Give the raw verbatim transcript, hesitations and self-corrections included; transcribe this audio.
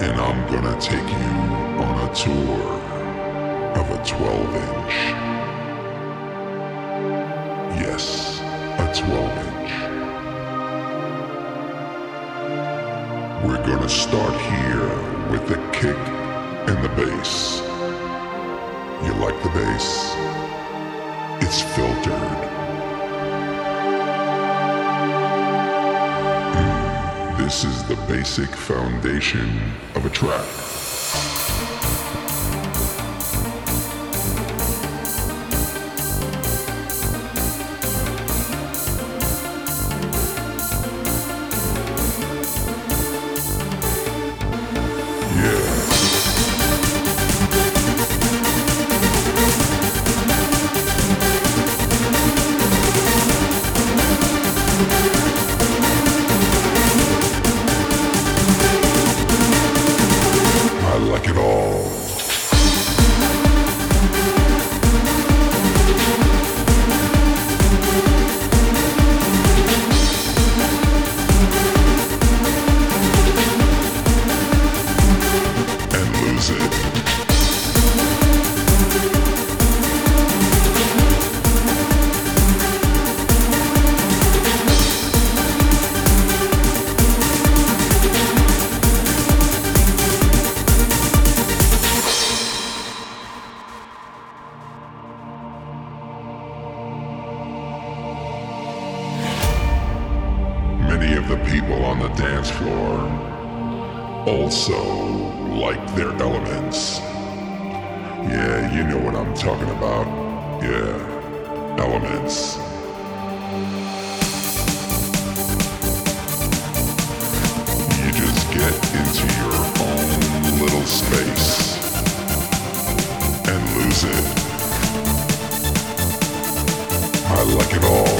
and I'm gonna take you on a tour of a twelve inch. Yes, a twelve inch. We're gonna start here with the kick and the bass. You like the bass? It's filtered. Mm, this is the basic foundation of a track. Many of the people on the dance floor also like their elements. Yeah, you know what I'm talking about. Yeah, elements. You just get into your own little space and lose it. I like it all.